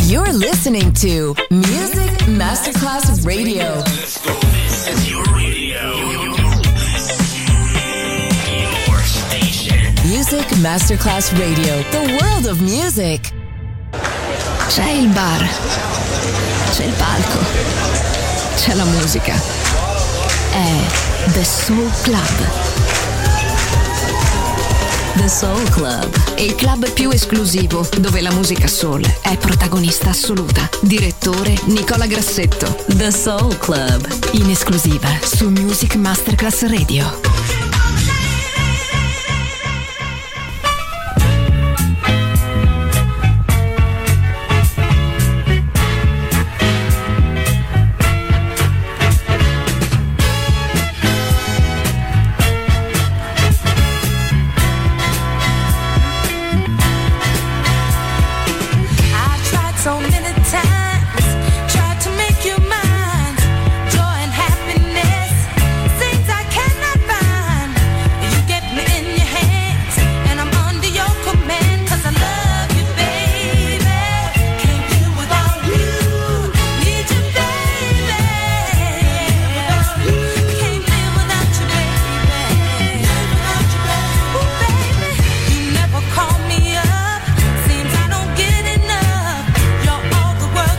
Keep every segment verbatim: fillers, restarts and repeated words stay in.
You're listening to Music Masterclass Radio. Let's go. This is your radio. Your station. Music Masterclass Radio. The world of music. C'è il bar. C'è il palco. C'è la musica. È The Soul Club. The Soul Club. Il club più esclusivo dove la musica soul è protagonista assoluta. Direttore Nicola Grassetto. The Soul Club. In esclusiva su Music Masterclass Radio. Call me up, seems I don't get enough. You're all the world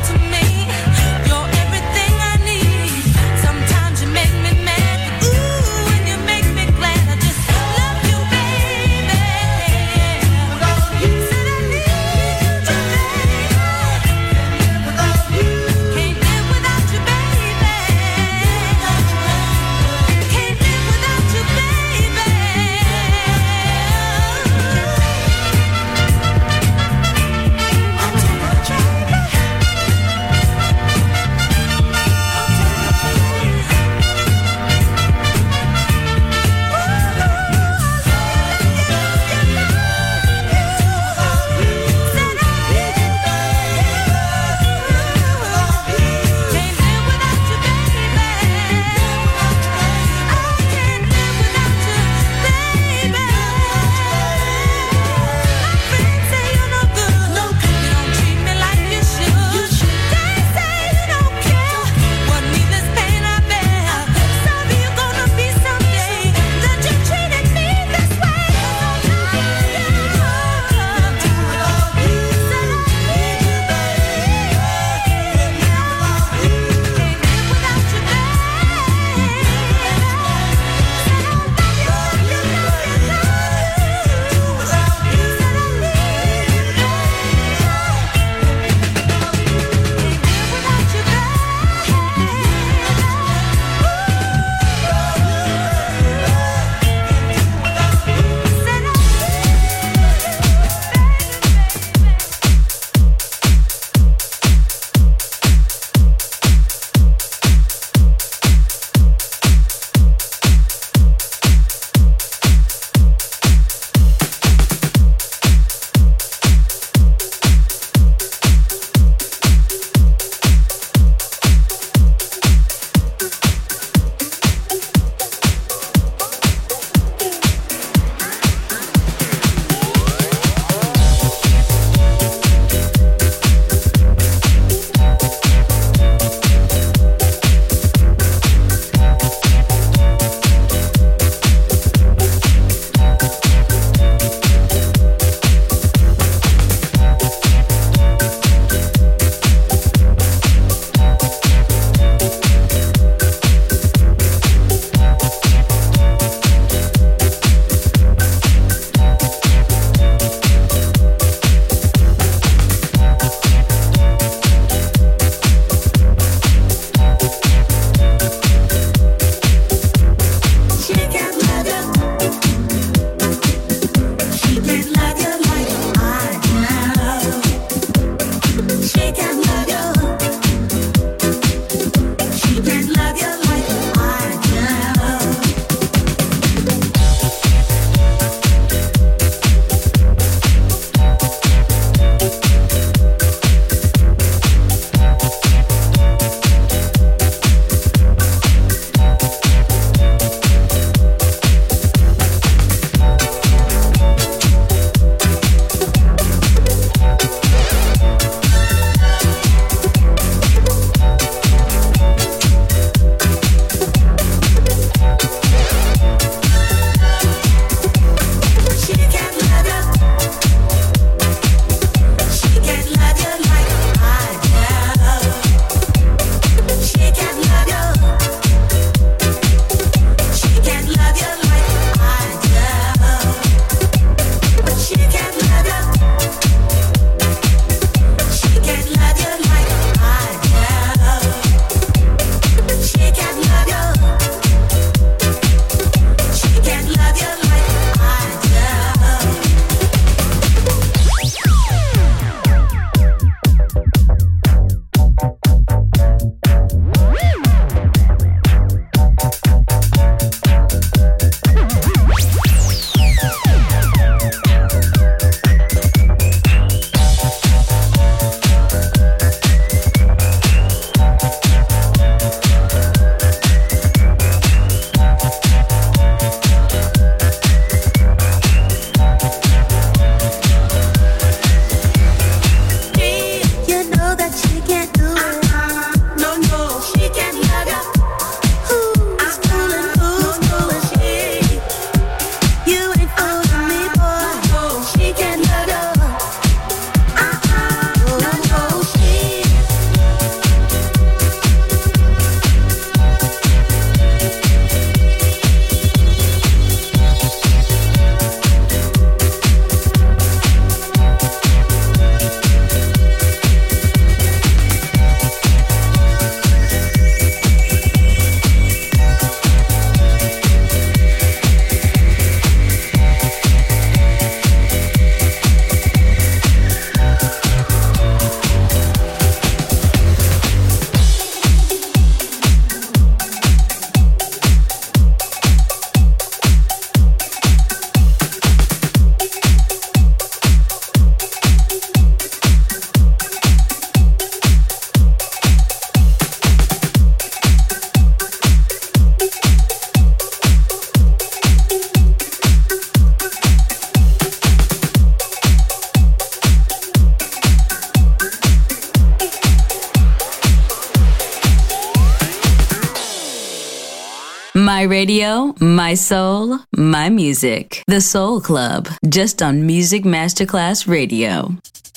My radio, my soul, my music. The Soul Club, just on Music Masterclass Radio.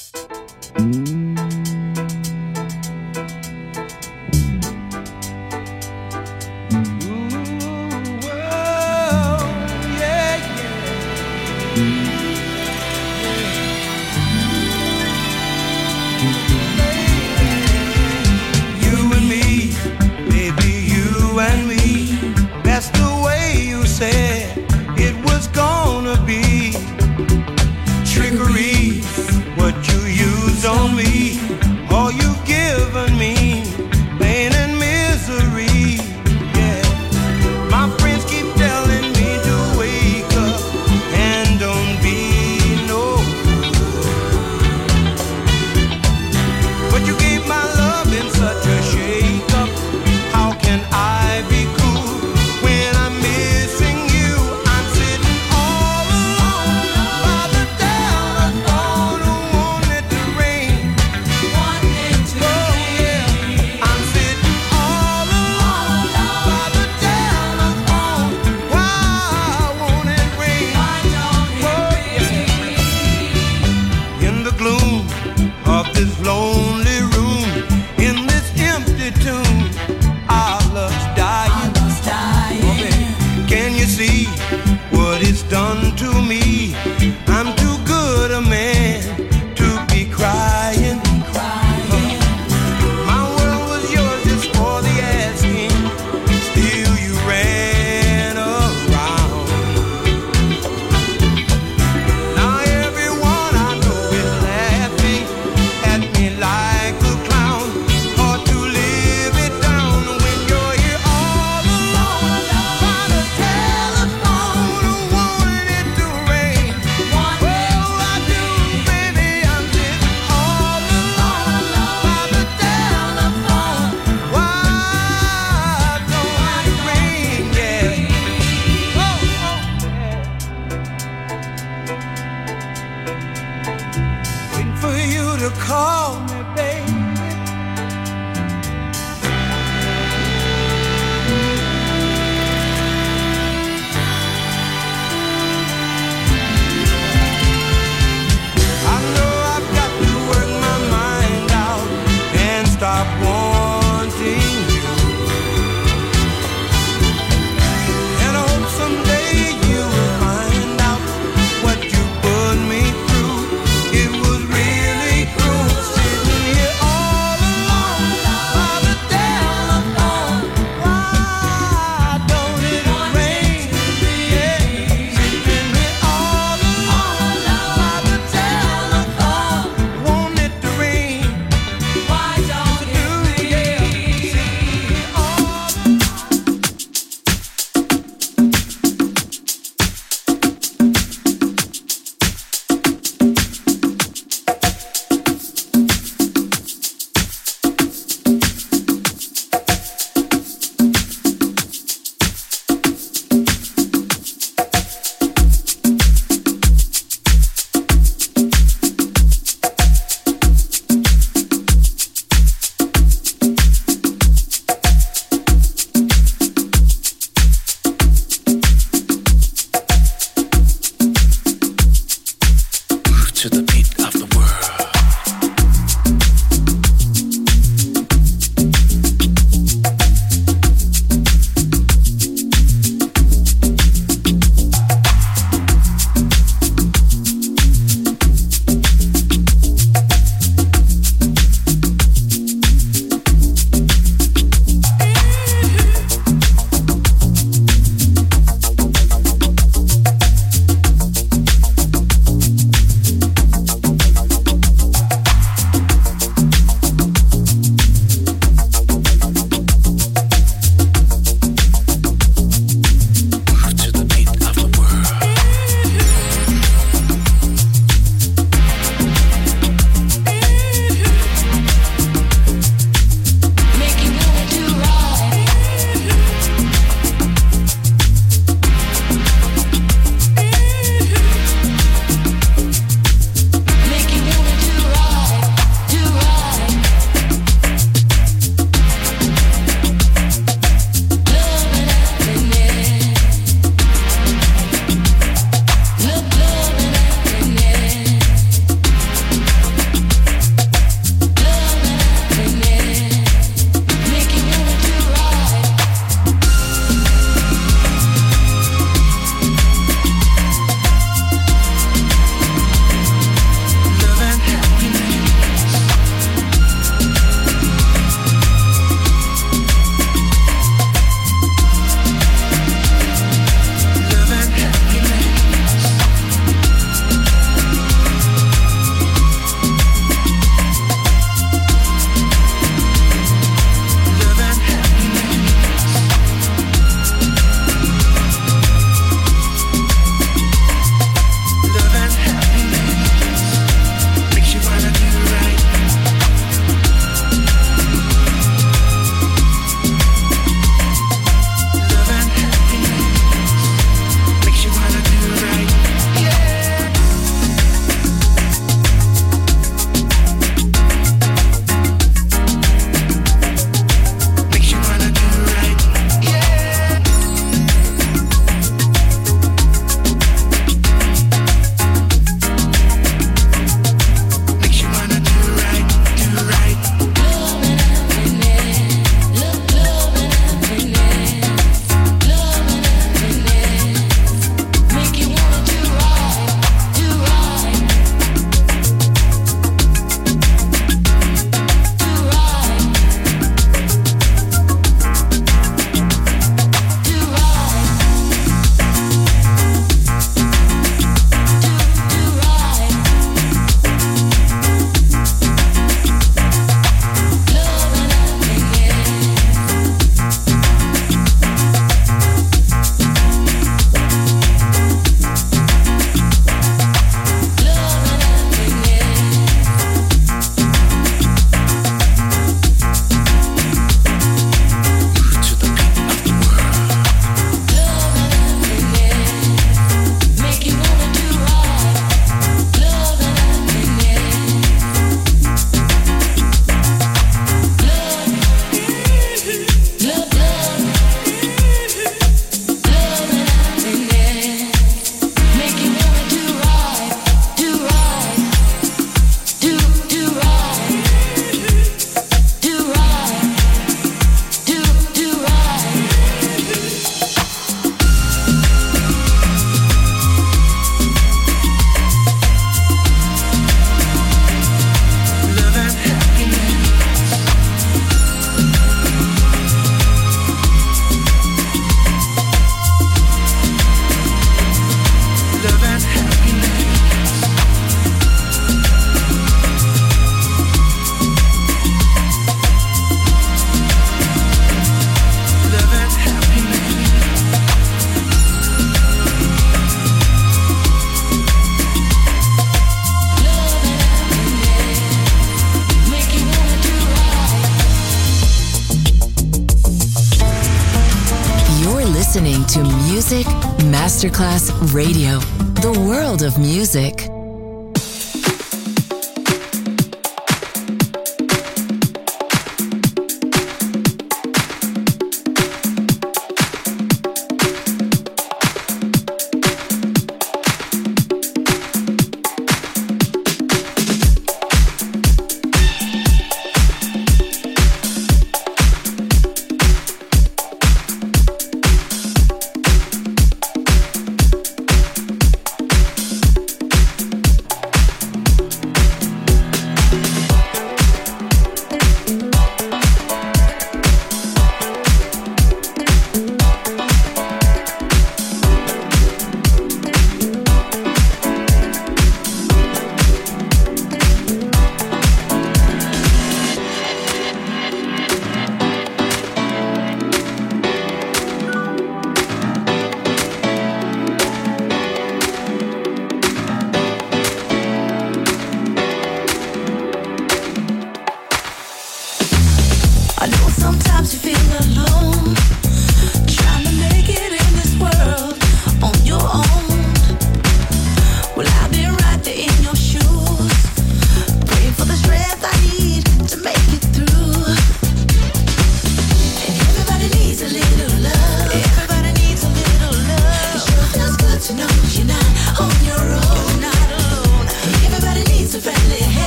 On me, all you've given me, pain and misery. Yeah, my friends keep telling me to wake up and don't be no fool. But you gave my love in such a shake up. How can I be cool when I'm missing you? I'm sitting all alone by the telephone. Who wanted to rain? This lonely room, in this empty tomb, our love's dying. Our love's dying. Oh, baby, can you see what it's done to me? I'm too good a man to be crying. crying. Uh, my world was yours just for the asking. Still you ran around. Now everyone I know is laughing at me like a clown. Hard to live it down when you're here all alone by the telephone. Who wanted it to rain? Oh, I do, baby. I'm sitting all alone by the telephone. Why don't it rain? Yeah. Oh, oh, yeah. Waiting for you to call me, baby. I know I've got to work my mind out and stop wanting you. And I hope someday you will find out what you put me through. It was really cruel sitting to Music Masterclass Radio, the world of music.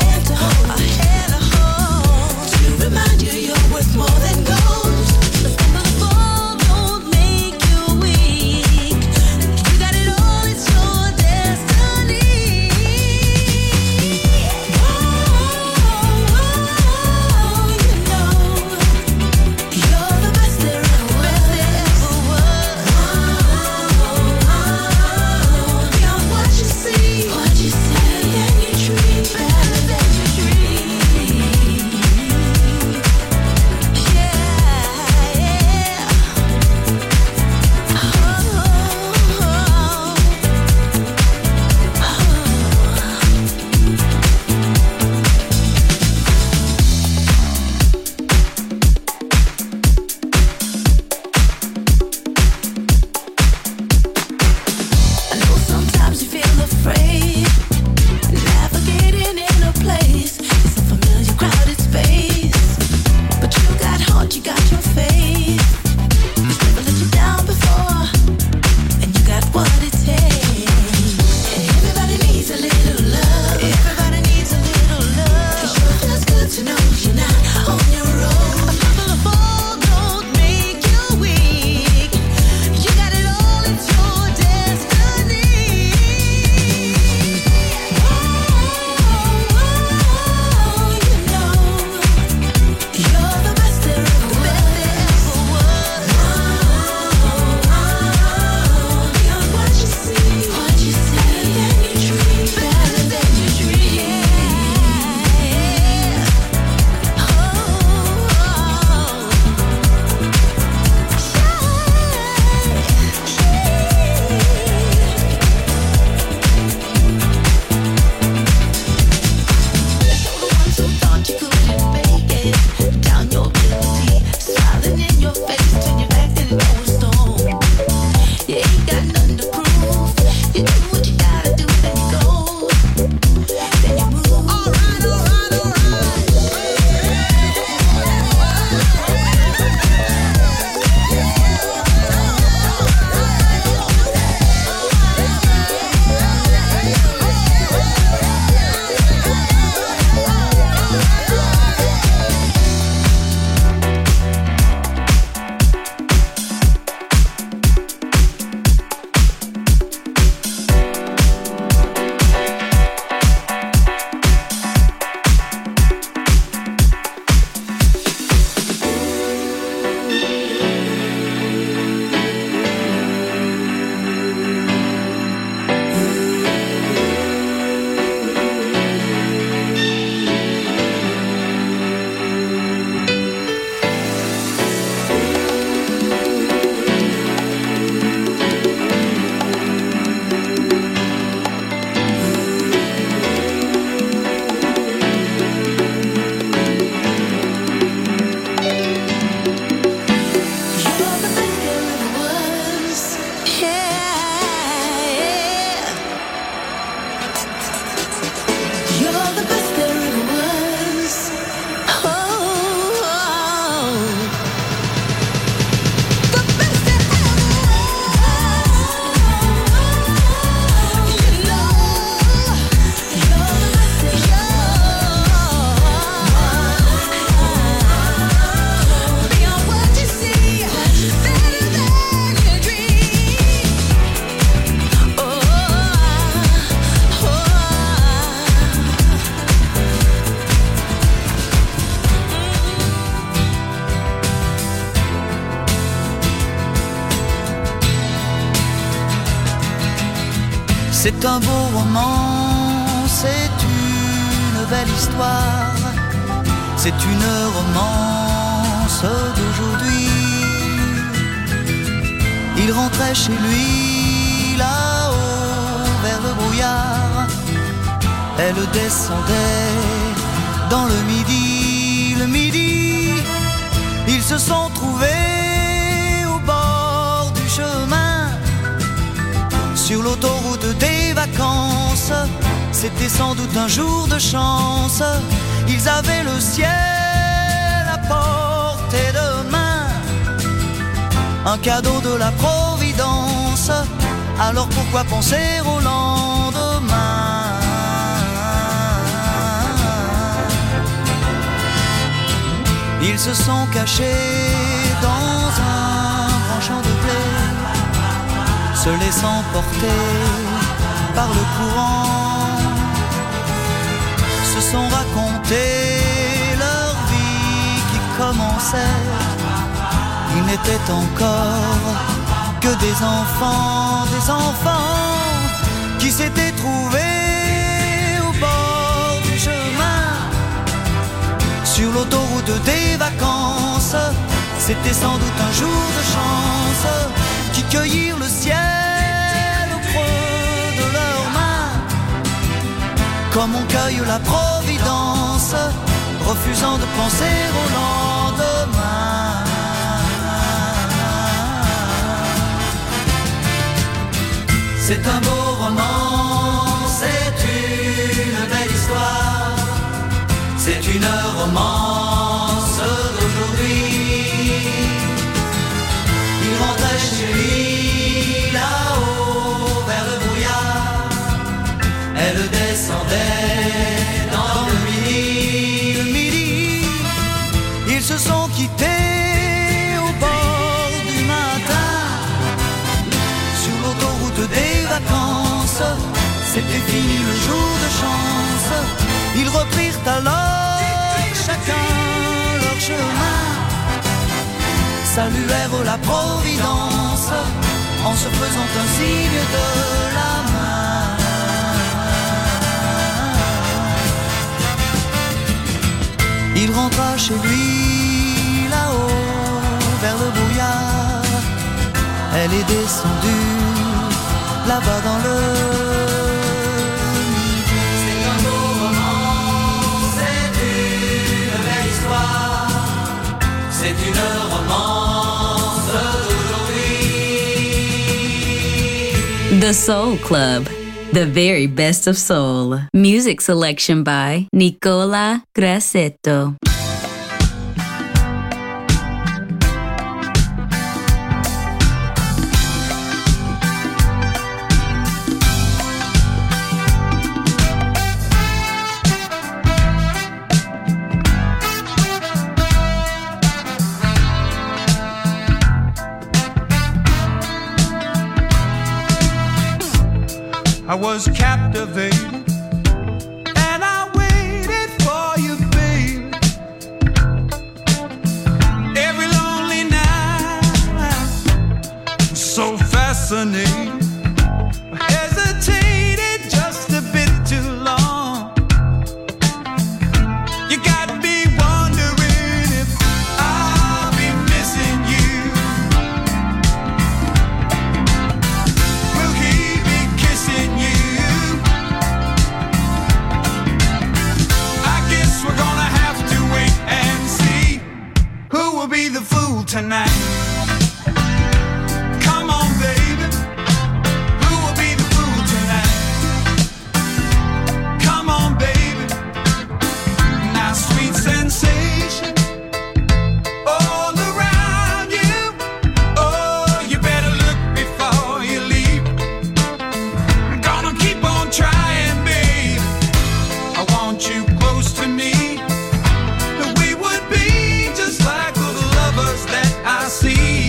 Remind you you're worth more than gold. C'est un beau roman, c'est une belle histoire, c'est une romance d'aujourd'hui. Il rentrait chez lui là-haut vers le brouillard, elle descendait dans le midi, le midi. Ils se sont trouvés au bord du chemin, sur l'autoroute des vacances. C'était sans doute un jour de chance. Ils avaient le ciel à portée de main, un cadeau de la Providence. Alors pourquoi penser au lendemain? Ils se sont cachés dans un grand champ de blé, se laissant porter par le courant, se sont raconté leur vie qui commençait. Ils n'étaient encore que des enfants, des enfants qui s'étaient trouvés au bord du chemin, sur l'autoroute des vacances. C'était sans doute un jour de chance, qui cueillirent le ciel au creux de leurs mains, comme on cueille la Providence, refusant de penser au lendemain. C'est un beau roman, c'est une belle histoire, c'est une romance d'aujourd'hui. Il rentrait chez lui là-haut vers le brouillard, elle descendait dans le midi, le midi. Ils se sont quittés au bord du matin, sur l'autoroute des vacances. C'était fini le jour de chance. Ils reprirent alors chacun leur chemin, saluèrent la Providence en se faisant un signe de la main. Il rentra chez lui là-haut vers le brouillard, elle est descendue là-bas dans le midi. C'est un beau roman, c'est une belle histoire, c'est une romance d'aujourd'hui. The Soul Club, the very best of soul. Music selection by Nicola Grassetto. I was captivated, and I waited for you, babe. Every lonely night, so fascinating. Hesitated just a bit too long. You got me wondering if I'll be missing you. Will he be kissing you? We're gonna have to wait and see who will be the fool tonight. Come on, baby, who will be the fool tonight? Come on, baby, now sweet sensation all around you. Oh, you better look before you leave. I'm gonna keep on trying, babe. I want you close to me. We would be just like the lovers that I see.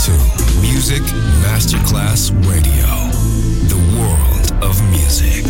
to Music Masterclass Radio, the world of music.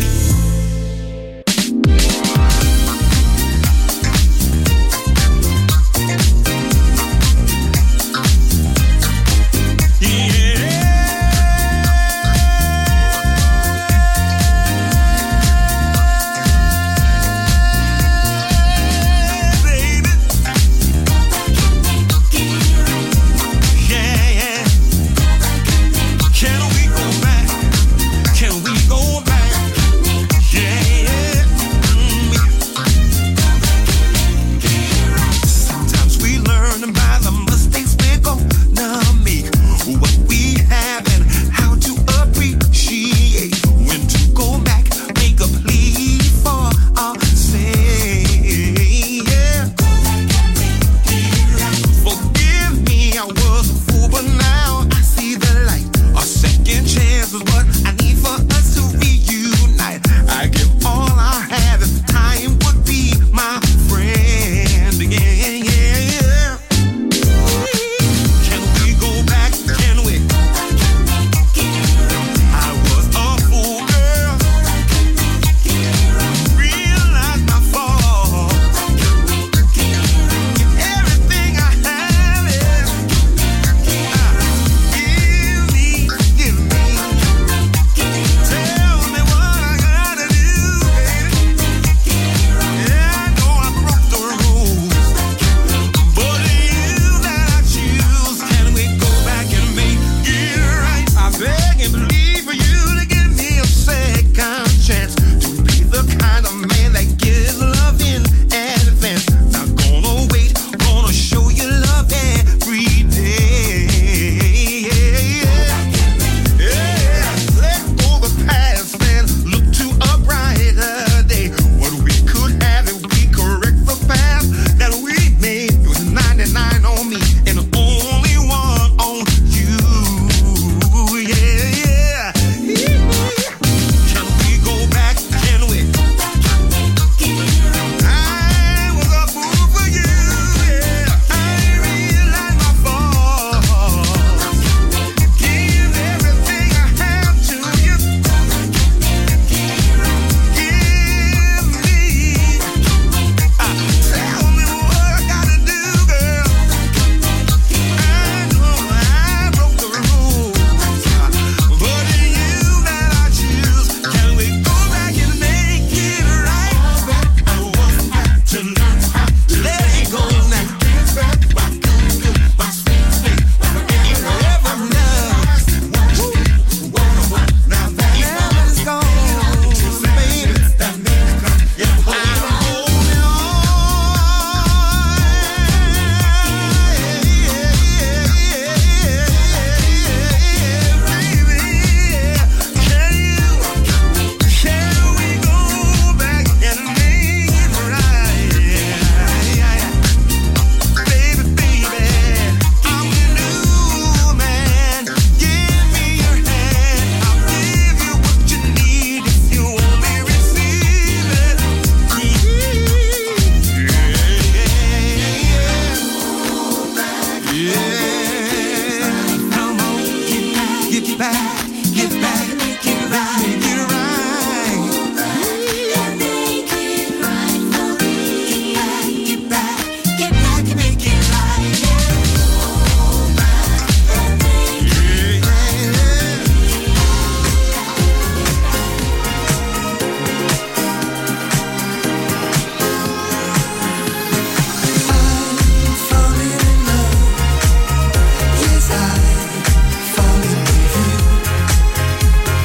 Yes, I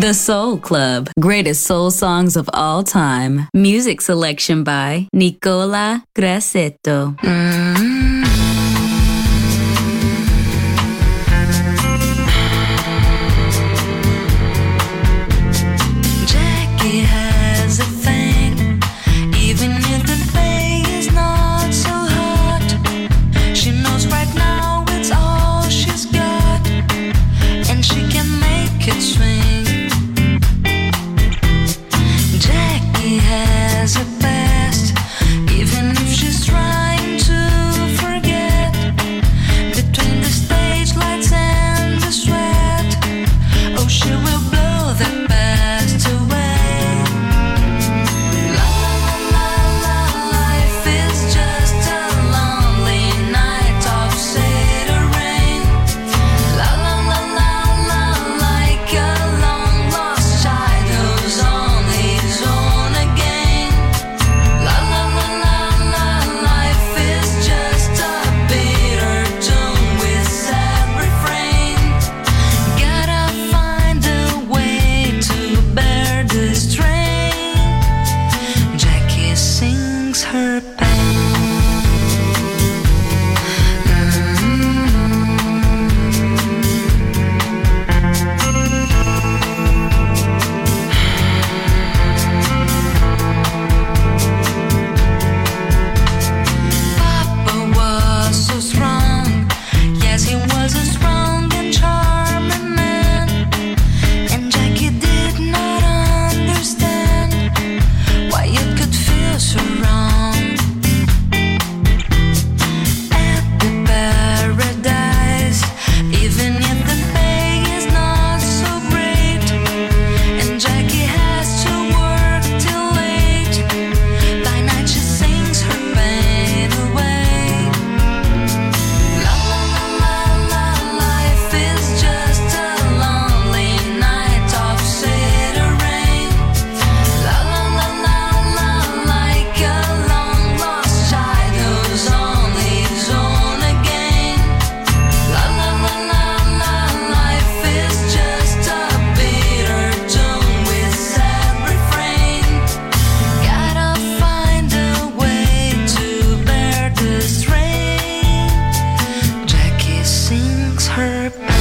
The Soul Club, greatest soul songs of all time. Music selection by Nicola Grassetto. Mm-hmm. Jackie has a thing, even if the day is not so hot. She knows right now it's all she's got, and she can make it swing. Jackie has a past, even if she's trying to forget. Between the stage lights and the sweat, oh, she will blow the past away. La la la la, life is just a lonely night of city rain. La la la la la, like a long lost child who's on his own again. La la la la la, life is just a bitter tune with sad refrain. Gotta find a way to bear the strain. Jackie sings her pain. Papa was so strong, yes, he was a strong and charming man, and Jackie did not understand why it could feel so wrong. At the paradise, even if the pay is not so great, and Jackie has to work till late, by night she sings her pain away. La la la la la, life is just a lonely night of city rain. La la la la la, like a long lost child who's on his own again. La la la la la, life is just a bitter tune with sad refrain. Gotta find a way to bear the strain. Jackie sings her pain.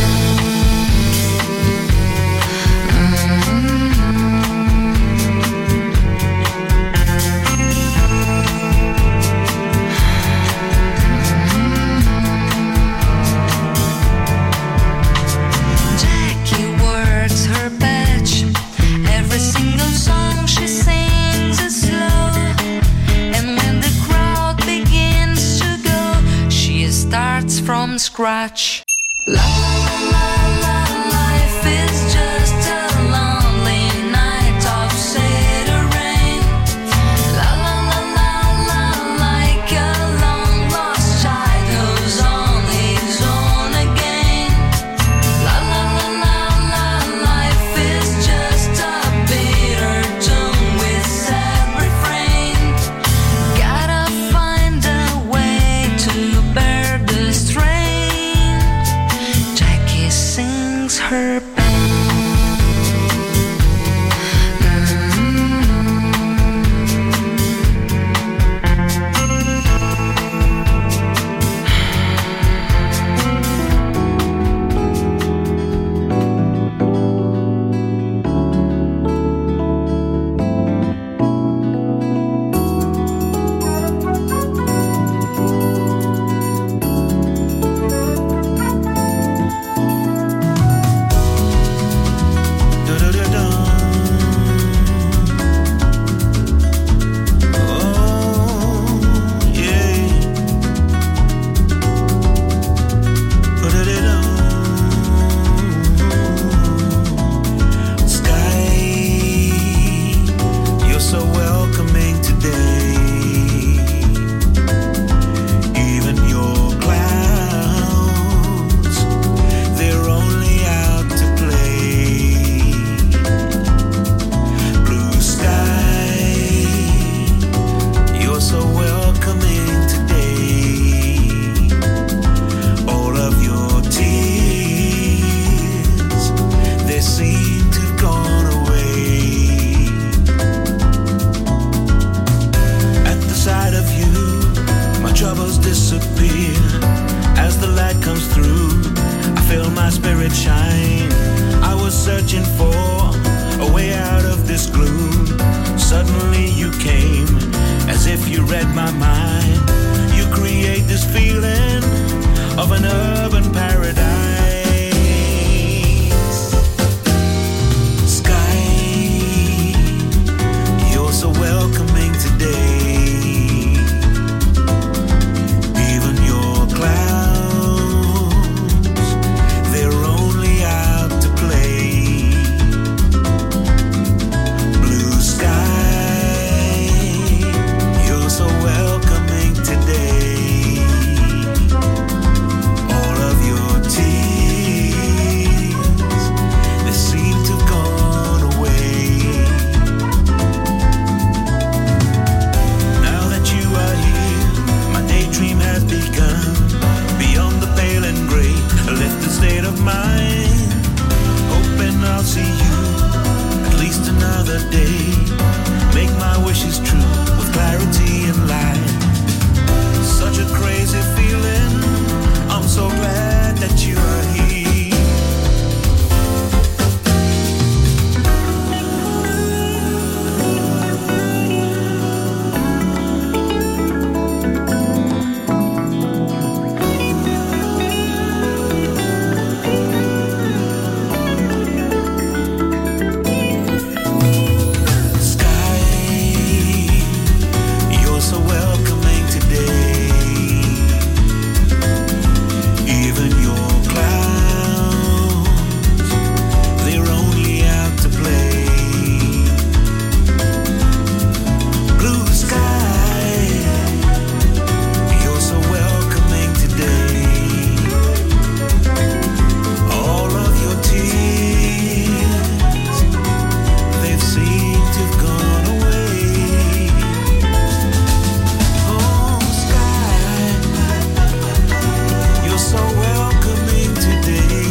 Jackie works her patch. Every single song she sings is slow, and when the crowd begins to go, she starts from scratch. La la la la, life is just a lonely night of city rain. La la la la la, like a long lost child who's on his own again. La la la la la, life is just a bitter tune with sad refrain. Gotta find a way to bear the strain. you read my mind. You create this feeling of an urban paradise. Sky, you're so welcoming today. Even your clouds, they're only out to play. Blue sky, you're so welcoming today. All of your tears, they seem to have gone away. Now that you are here, my daydream has begun. Beyond the pale and gray, a lifted state of mind. Hoping I'll see you at least another day. Make my wishes true with clarity and light. Such a crazy feeling, I'm so glad that you are here. Sky, you're so welcoming today. Even your clouds, they're only out to play. Blue sky, you're so welcoming today. All of your tears, they've seemed to have gone away. Oh, sky, you're so welcoming today.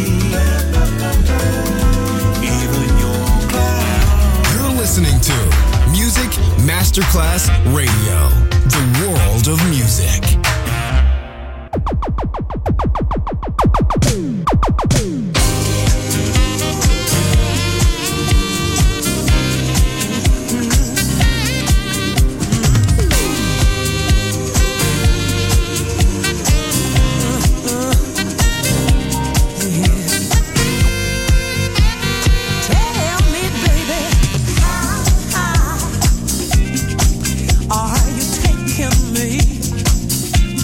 Even your clouds. You're listening to Music Masterclass Radio, the world of music. Tell me, baby, are you taking me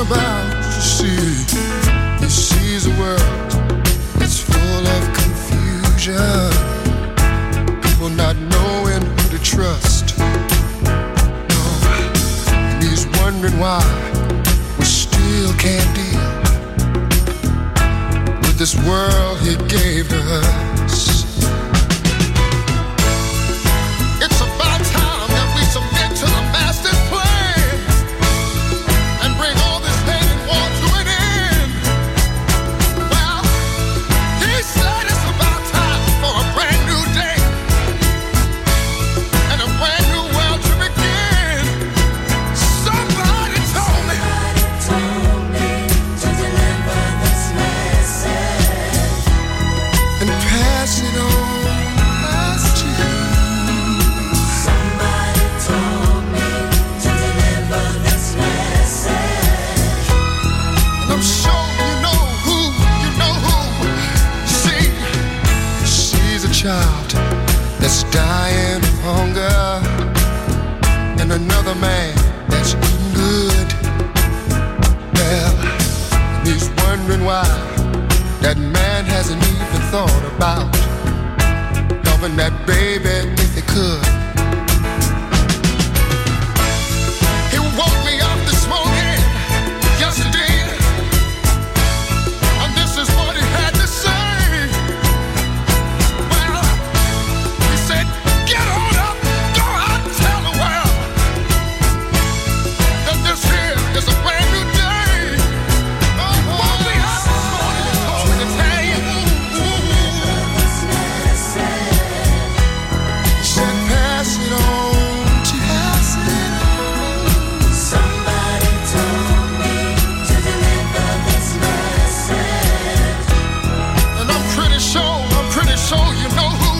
about, you see, he sees a world that's full of confusion, people not knowing who to trust. No, and he's wondering why we still can't deal with this world he gave to us. It's about time that we submit to the master's plan and bring all this hate and war to an end. Well, he said it's about time for a brand new day and a brand new world to begin. Somebody told me, told me to deliver this message and pass it on. Pass to you. Somebody told me to deliver this message, and I'm sure you know who, you know who. See, she's a child that's dying of hunger, and another man that's eating good. Well, and he's wondering why that man hasn't even thought about helping that baby if he could. He woke me up this morning, yes he did, and this is what he had to say. Well, he said, get on up, go out and tell the world that this here is a brand new day. He woke me up this morning and told me to tell you. He said, pass it on to pass it on. Somebody told me to deliver this message, and I'm pretty sure, I'm pretty sure you know who.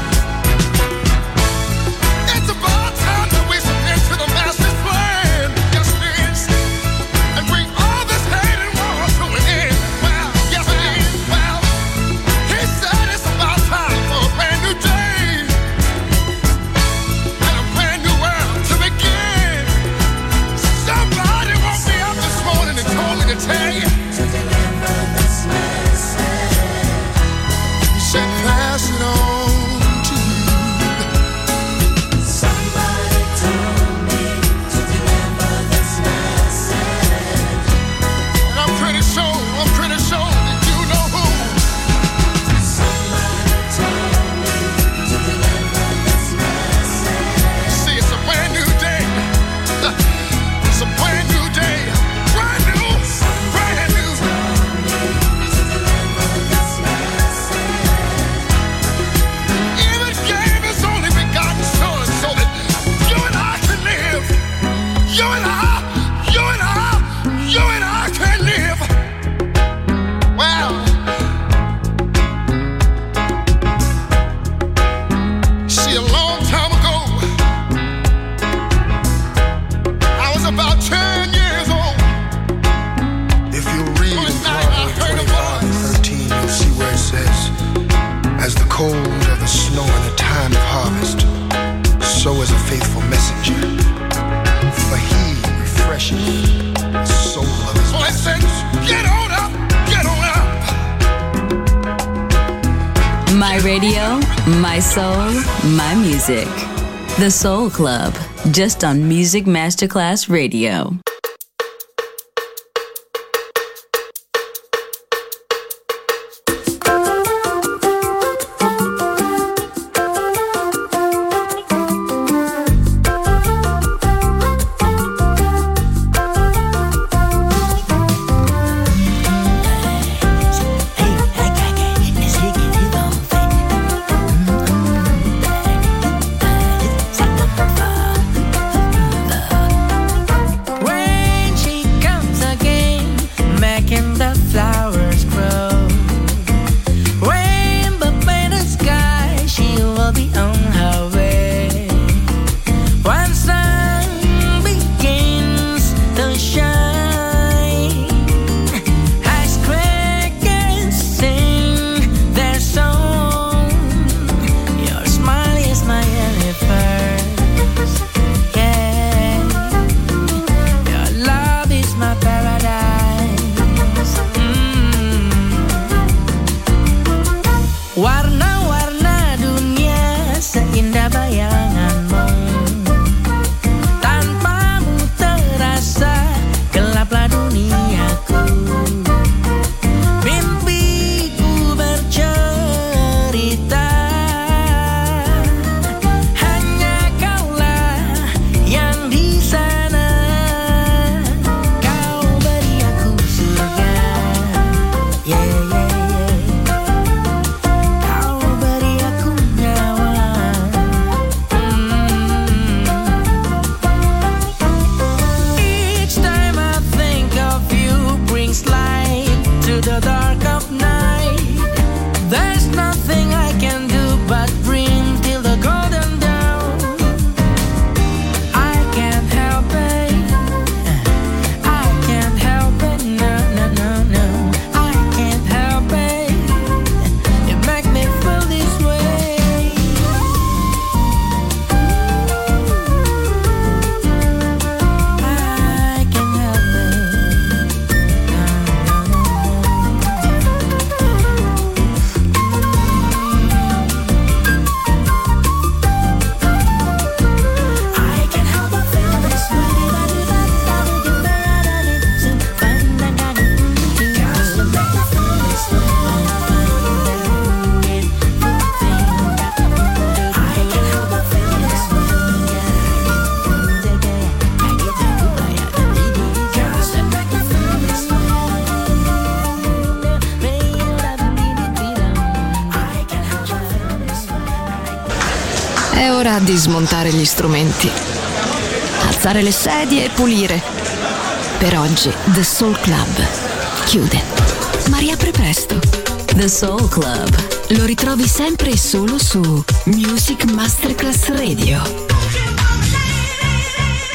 It's about time that we submit to the master's plan. Yes, it is. And bring all this hate and war to an end. Well, yes, it is. Well, he said it's about time for a brand new day and a brand new world to begin. Somebody woke me up this morning and told me to tell you to deliver this message. He said, pass it on to you. Somebody told me to deliver this message, and I'm pretty sure, I'm pretty sure that you know who. Somebody told me to deliver this message. See, it's a brand new day. It's a brand new day. Brand new, brand new. Even gave his only begotten son so that you and I can live. You and I, you and I, you and I can live. Well, see, a long time ago, I was about ten years old. If you read in Proverbs twenty-five thirteen, you'll see where it says, as the cold of the snow in the time of harvest, so is a faithful messenger. For he refreshes the soul of his so messengers. Get on up, get on up. My radio, my soul, my music. The Soul Club, just on Music Masterclass Radio. When È ora di smontare gli strumenti, alzare le sedie e pulire. Per oggi The Soul Club chiude, ma riapre presto. The Soul Club. Lo ritrovi sempre e solo su Music Masterclass Radio.